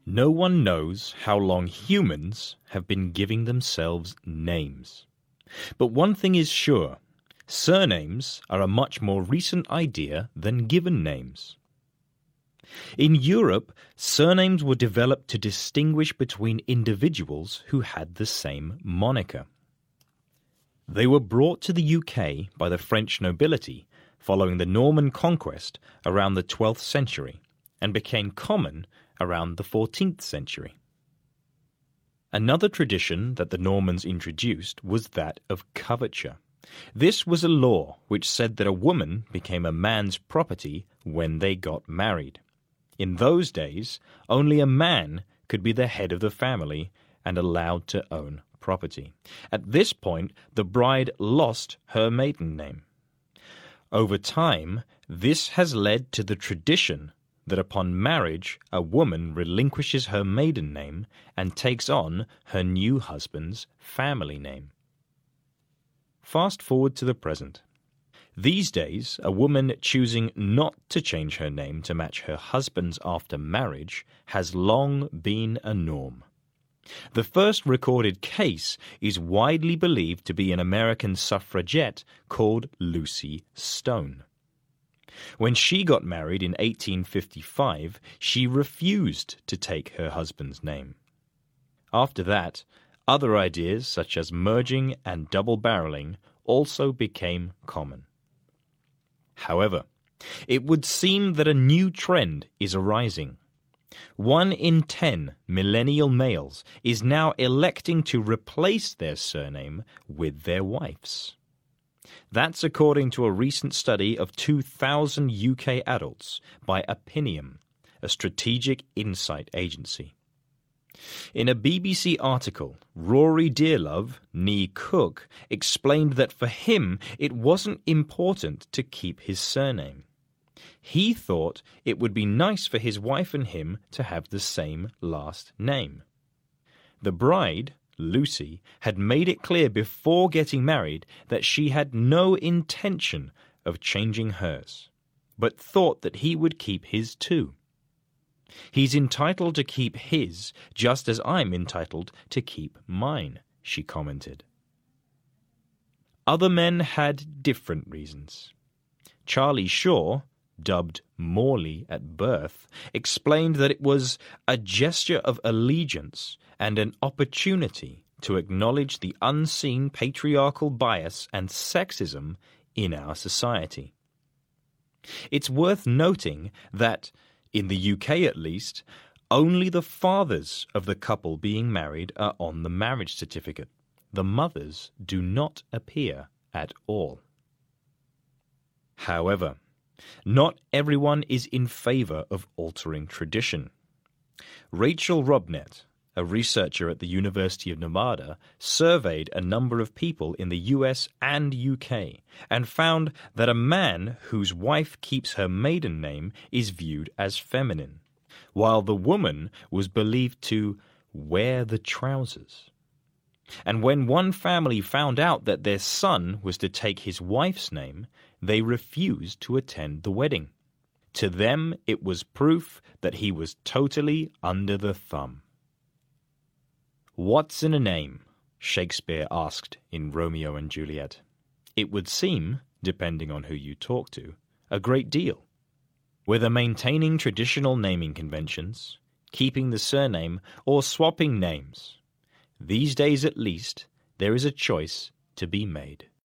No one knows how long humans have been giving themselves names. But one thing is sure, surnames are a much more recent idea than given names. In Europe, surnames were developed to distinguish between individuals who had the same moniker. They were brought to the UK by the French nobility following the Norman conquest around the 12th century and became common around the 14th century. Another tradition that the Normans introduced was that of coverture. This was a law which said that a woman became a man's property when they got married. In those days, only a man could be the head of the family and allowed to own property. At this point, the bride lost her maiden name. Over time, this has led to the tradition that upon marriage, a woman relinquishes her maiden name and takes on her new husband's family name. Fast forward to the present. These days, a woman choosing not to change her name to match her husband's after marriage has long been a norm. The first recorded case is widely believed to be an American suffragette called Lucy Stone. When she got married in 1855, she refused to take her husband's name. After that, other ideas such as merging and double-barreling also became common. However, it would seem that a new trend is arising. 1 in 10 millennial males is now electing to replace their surname with their wife's. That's according to a recent study of 2,000 UK adults by Opinium, a strategic insight agency. In a BBC article, Rory Dearlove, née Cook, explained that for him it wasn't important to keep his surname. He thought it would be nice for his wife and him to have the same last name. The bride, Lucy, had made it clear before getting married that she had no intention of changing hers, but thought that he would keep his too. He's entitled to keep his just as I'm entitled to keep mine, she commented. Other men had different reasons. Charlie Shaw, dubbed Morley at birth, explained that it was a gesture of allegiance and an opportunity to acknowledge the unseen patriarchal bias and sexism in our society. It's worth noting that, in the UK at least, only the fathers of the couple being married are on the marriage certificate. The mothers do not appear at all. However, not everyone is in favour of altering tradition. Rachel Robnett, a researcher at the University of Nevada, surveyed a number of people in the US and UK and found that a man whose wife keeps her maiden name is viewed as feminine, while the woman was believed to wear the trousers. And when one family found out that their son was to take his wife's name, they refused to attend the wedding. To them, it was proof that he was totally under the thumb. "What's in a name?" Shakespeare asked in Romeo and Juliet. It would seem, depending on who you talk to, a great deal. Whether maintaining traditional naming conventions, keeping the surname, or swapping names, these days at least, there is a choice to be made.